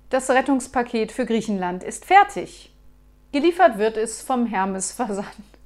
Das Rettungspaket für Griechenland ist fertig. Geliefert wird es vom Hermes Versand.